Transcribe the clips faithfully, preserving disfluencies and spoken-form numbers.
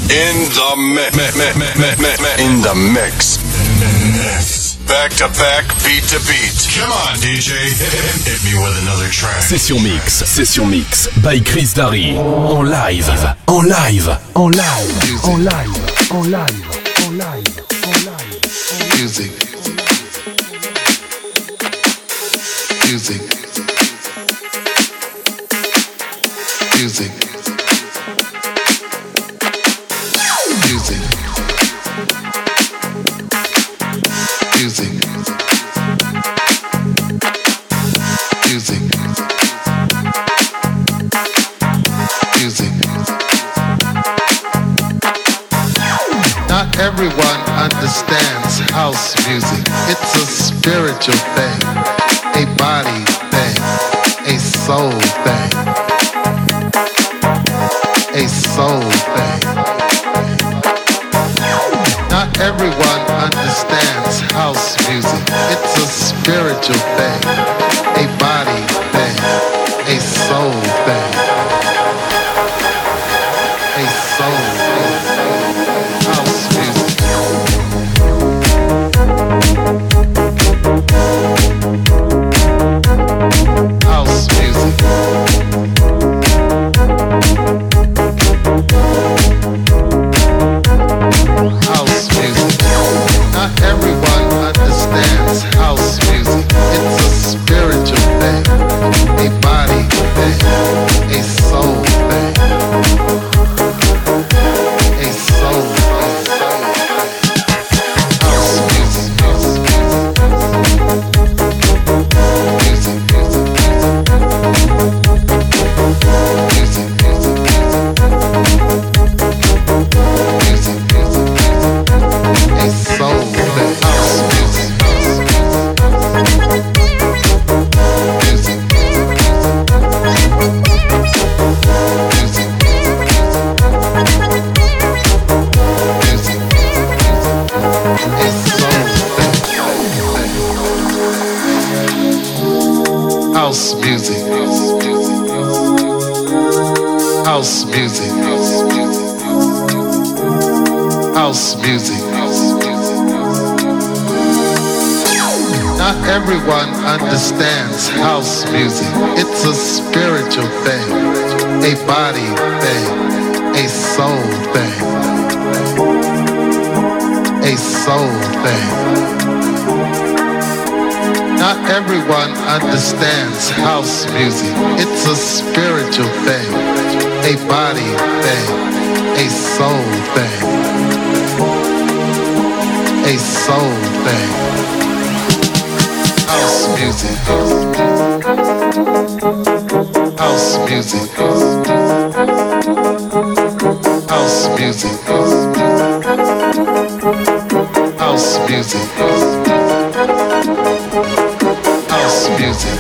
In the mix. In the mix. Back to back, beat to beat. Come on, D J. Hit me with another track. Session Mix. Session Mix. By Chris Darry. En live. En live. En live. En live. En live. En live. En live. Music. Music. Music. Music. Music. Music. Music. Not everyone understands house music. It's a spiritual thing, a body thing, a soul thing, a soul thing. Not everyone understands house music. It's a spiritual thing, a body thing, a soul thing, a soul thing. House music. House music. House music. Not everyone understands house music. It's a spiritual thing, a body thing, a soul thing, a soul thing. House music. Music, music, music, music, music, music, a soul thing. House music. Music. Music. Music. A soul thing. House music. House music. House music. Not everyone understands house music. It's a spiritual thing, a body thing, a soul thing, a soul thing. Not everyone understands house music. It's a spiritual thing, a body thing, a soul thing, a soul thing. House music. House music. House music. House music. House music.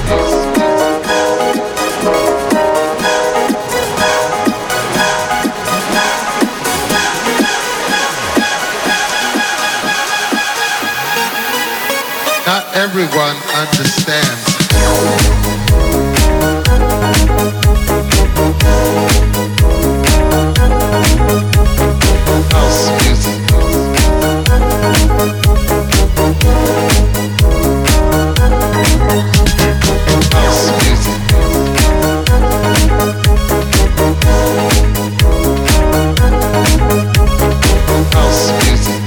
Not everyone understands. House music. House music. House music.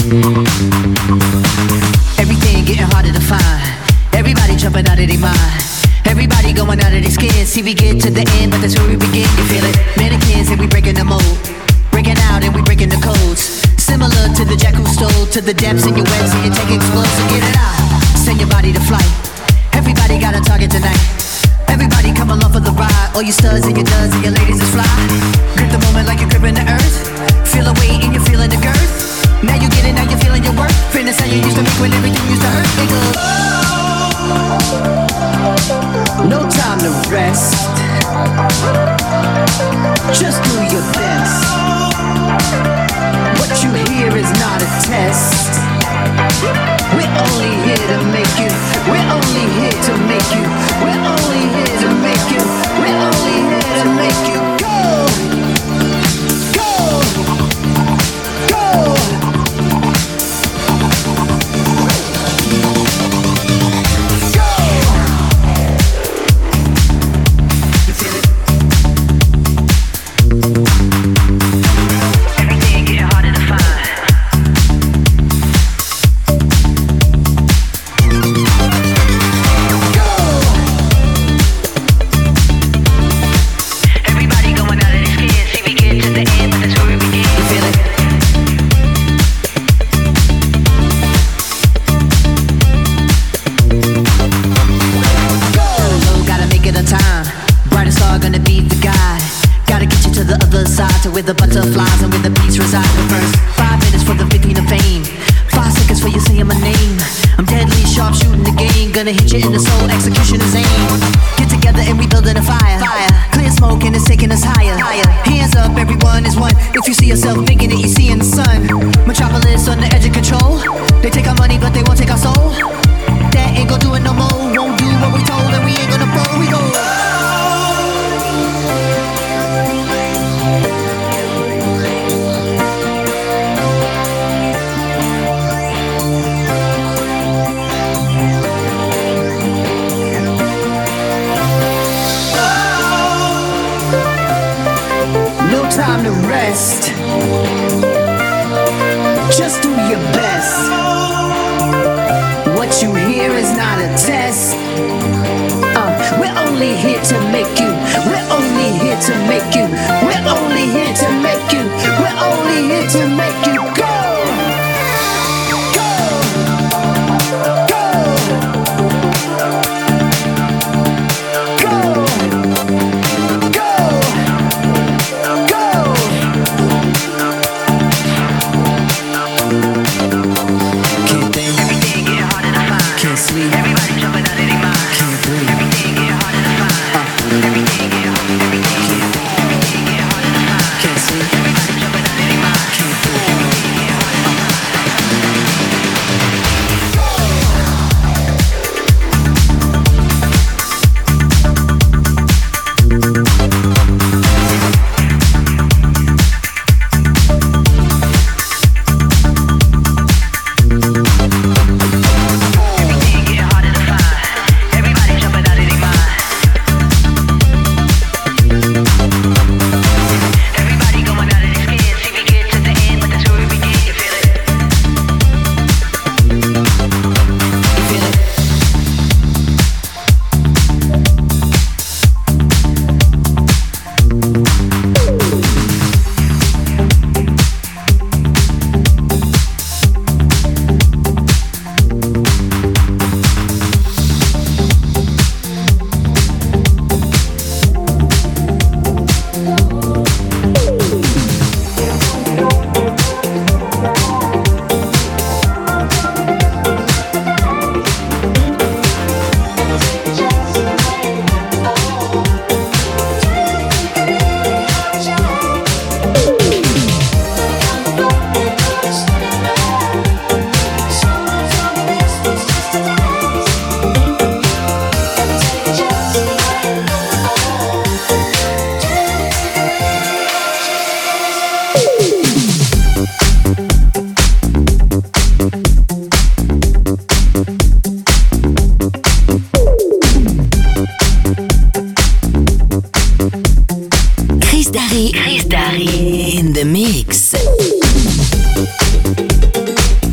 Everything getting harder to find. Everybody jumping out of their mind. Everybody going out of their skin. See, we get to the end, but that's where we begin. You feel it? Mannequins and we breaking the mold. Breaking out and we breaking the codes. Similar to the jack who stole to the depths in your web, so you take explosive, so get it out. Send your body to flight. Everybody got a target tonight. Everybody come along for the ride. All you studs and your duds and your ladies is fly. Grip the moment like you're gripping the earth. Feel the weight and you're feeling the girth. Now you get it, now you're feeling your worth. Fitness how you used to make when everything used to hurt. It goes, no time to rest. Just do your best. What you hear is not a test. We're only here to make you. We're only here to make you. We're only here to make you. We're only here to make you go. Go. Go. Where the butterflies and where the bees reside. The first five minutes for the fifteen of fame. Five seconds for you saying my name. I'm deadly sharp shooting the game. Gonna hit you in the soul, execution is aim. Get together and we building a fire. Fire. Clear smoke and it's taking us higher. Higher. Hands up, everyone is one. If you see yourself thinking it, you see in the sun. Metropolis on the edge of control. They take our money but they won't take our soul. That ain't gon' do it no more. Won't do what we told and we ain't gonna fold. We go. Time to rest. Just do your best. What you hear is not a test. Uh, we're only here to make you. We're only here to make you. We're only here to make you. We're only here to make you go. Chris Darry in the mix.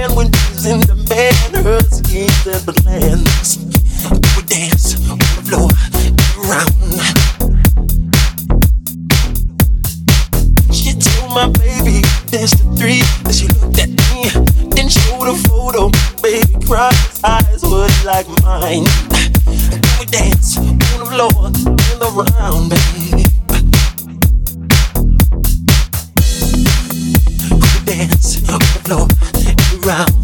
stand when she's in demand. Her schemes and plans. We dance on the floor around. She told my baby dance to three. Then she looked at me, then showed a photo. Baby cried, his eyes were like mine. We dance on the floor and around, baby. We dance on the floor and around.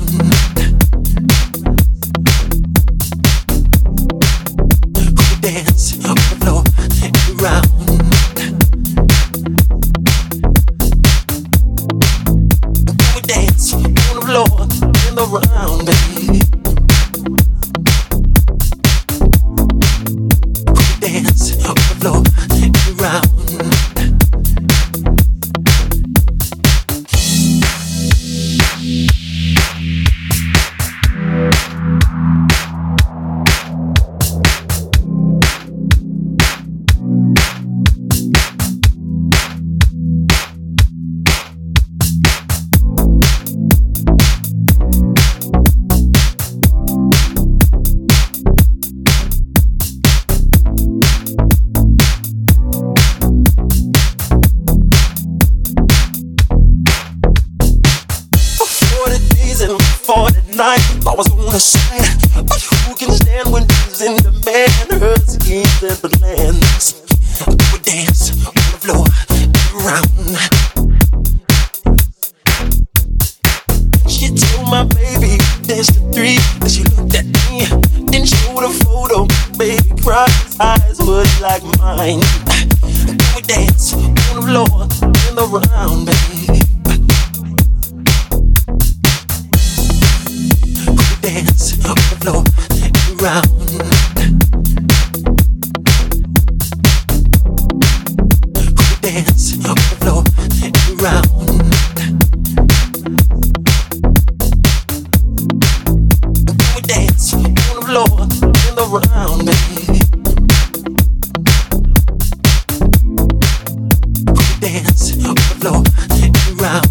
Dance on the floor and around. We dance on the floor and around, baby. We dance on the floor and around. I was on the side, but who can stand when she's in demand? Her schemes and plans. We dance on the floor around. She told my baby dance to three. Then she looked at me, then showed a photo. Baby cried, his eyes were like mine. We dance on the floor and around, baby. Dance on the floor and around. Dance on the floor and around. We dance on the floor and around, baby. Dance on the floor and around.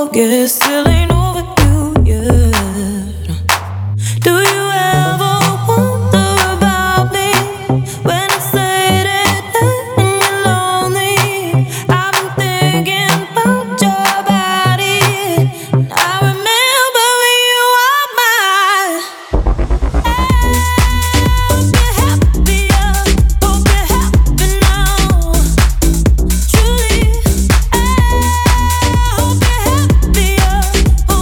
forget, still ain't over you yet. Do you ever wonder about me when it's late at night and you're lonely? I've been thinking about your body, and I remember when you were mine. Hope you're happier, hope you're happy now. Truly, I hope you're happier, hope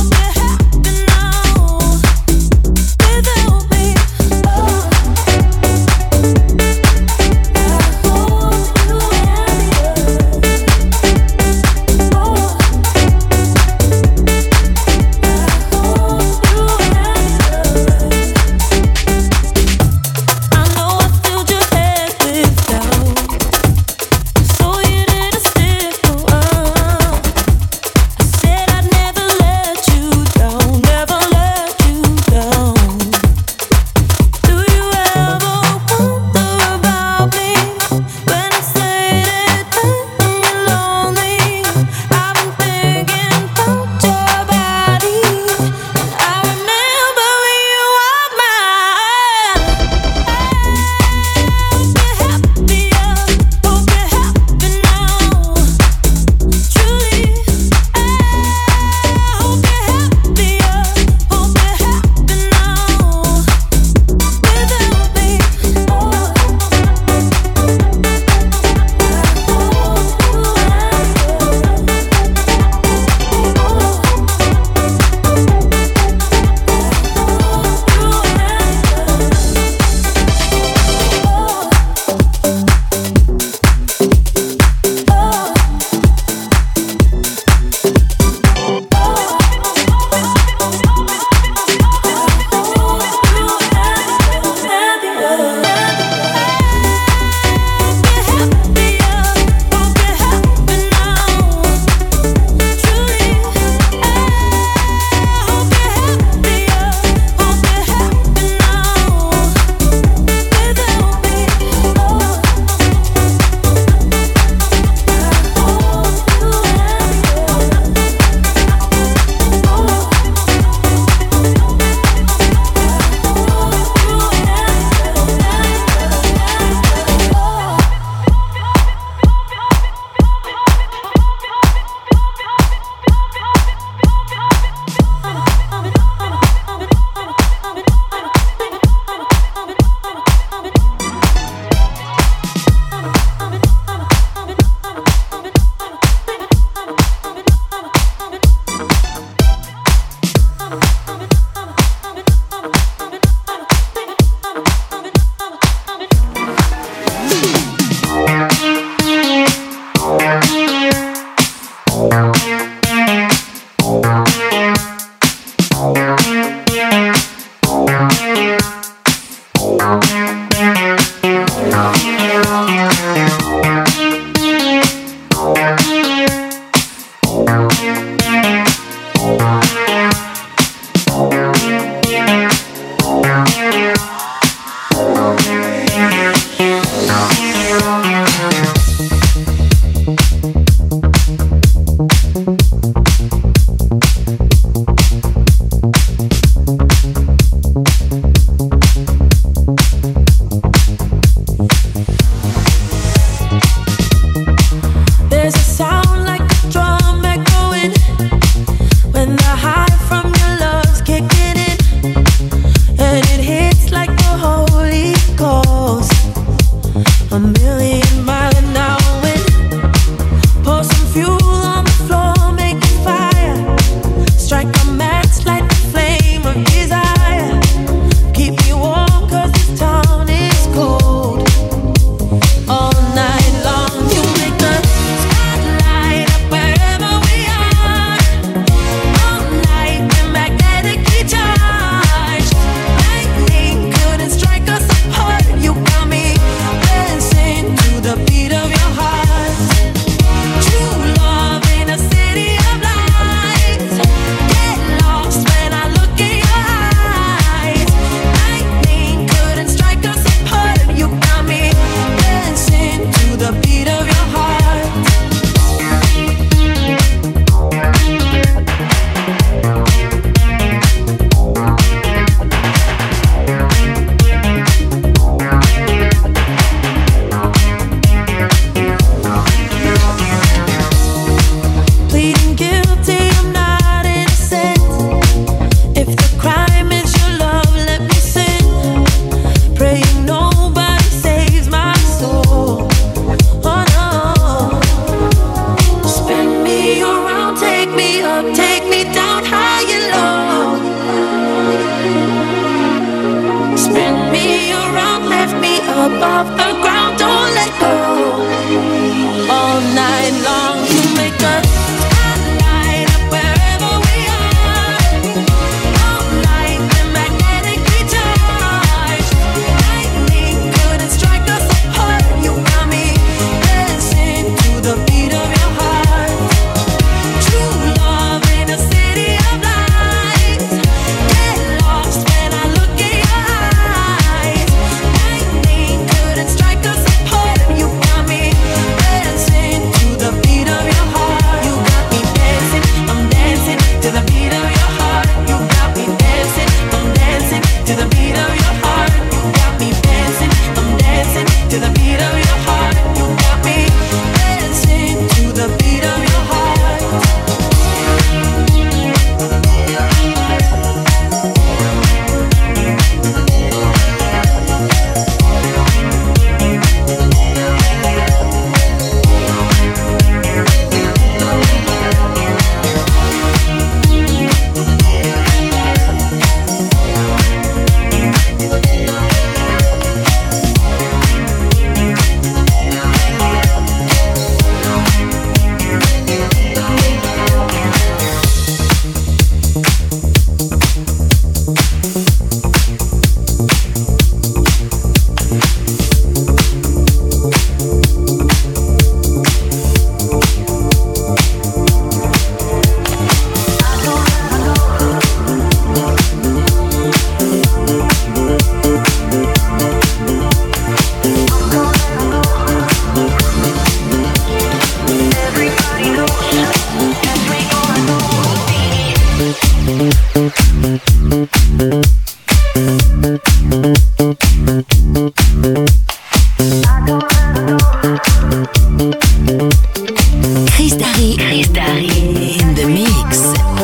Chris Darry, Chris Darry in the mix.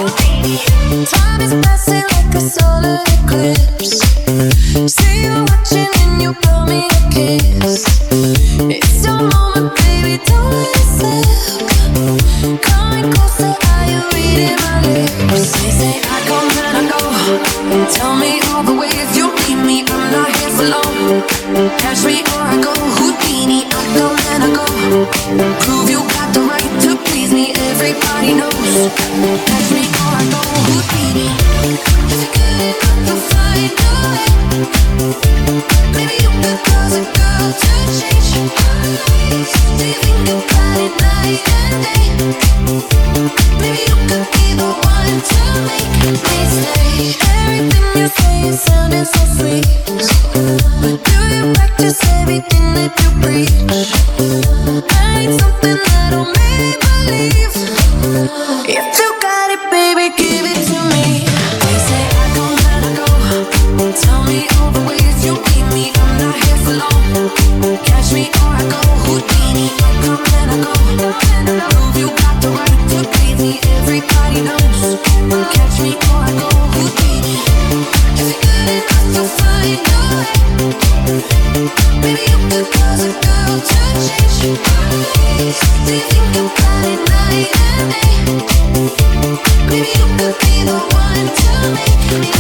Time is passing like a solar eclipse. See you watching and you blow me a kiss. It's your moment, baby, don't let it slip. Coming closer, are you reading my lips? They say I come and I go. Tell me all the way if you need me. I'm not here for long. Catch me or I go Houdini. I come and I go. Prove you got the right to please me. Everybody knows. Catch me or I go Houdini. If you're good enough, you'll find a way. Maybe you could cause a girl to change your mind. Do you think about it night and day? Maybe you could be the one to make me stay. Everything you say is sounding so sweet, but do you practice everything that you preach? I need something that'll make me believe. If you got it, baby, give it to me. They say I come and I go. Tell me all the ways you need me. I'm not here for long. Catch me or I go Houdini. I come and I go. Prove you got the right to please me. Everybody knows. Catch me or I go Houdini. If you're good enough, you'll find a way. Maybe you could cause a girl to change your mind. Do you think about it night and day? Maybe you could be the one to make me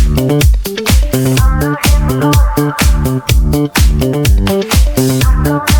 I'm